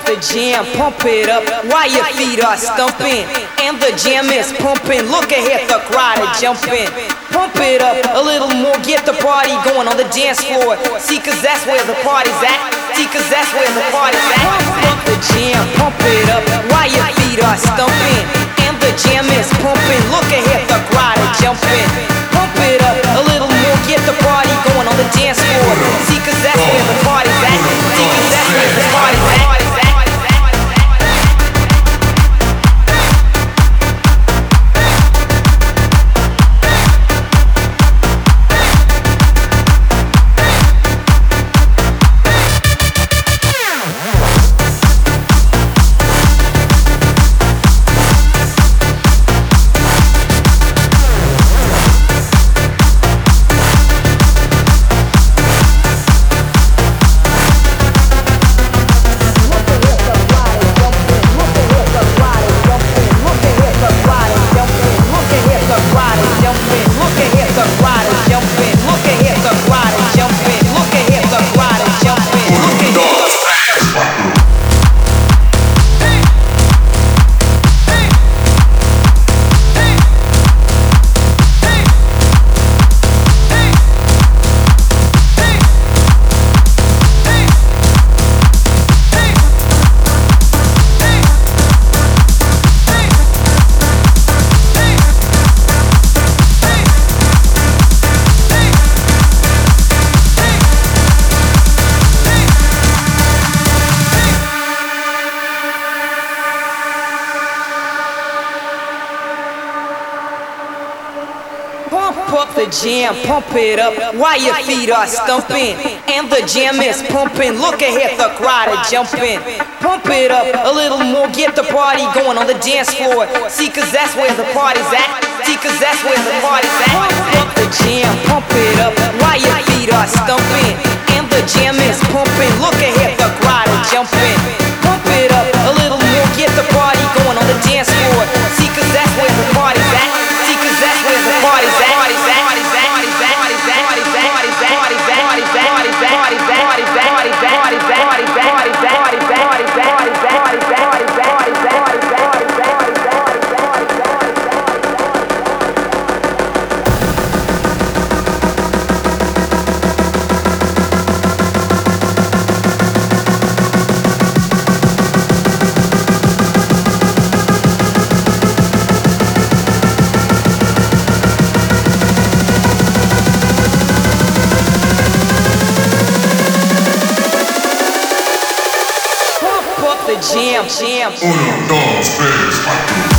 the jam, pump it up while your feet are stumping. And the jam is pumping, look ahead, the crowd is jumping. Pump it up a little more, get the party going on the dance floor. See, cause that's where the party's at. See, cause that's where the party's at. Pump the jam, pump it up while your feet are stumping. And the jam is pumping, look ahead, the crowd is jumping. Pump it up a little more, get the party going on the dance floor. See, cause that's where the party's at. See, cause that's where the party's at. Pump up the jam, pump it up while your feet are stumping. And the jam is pumping, look ahead, the crowd is jumping. Pump it up a little more, get the party going on the dance floor. See, cause that's where the party's at. See, cause that's where the party's at. Pump up the jam, pump it up while your feet are stumping. And the jam is pumping, look ahead, the crowd is jumping. Pump it up a little more, get the party going on the dance floor. See, cause that's where the party's at. See, cause that's where the party's at. The jam. 1, 2, 3, 4.